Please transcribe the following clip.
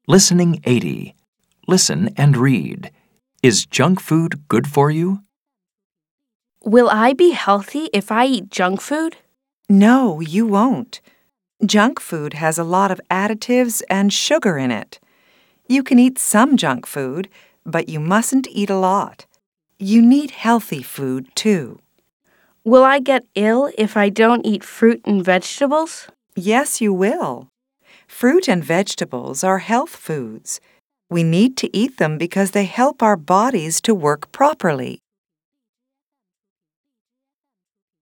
Listening 80. Listen and read. Is junk food good for you? Will I be healthy if I eat junk food? No, you won't. Junk food has a lot of additives and sugar in it. You can eat some junk food, but you mustn't eat a lot. You need healthy food, too. Will I get ill if I don't eat fruit and vegetables? Yes, you will. Fruit and vegetables are health foods. We need to eat them because they help our bodies to work properly.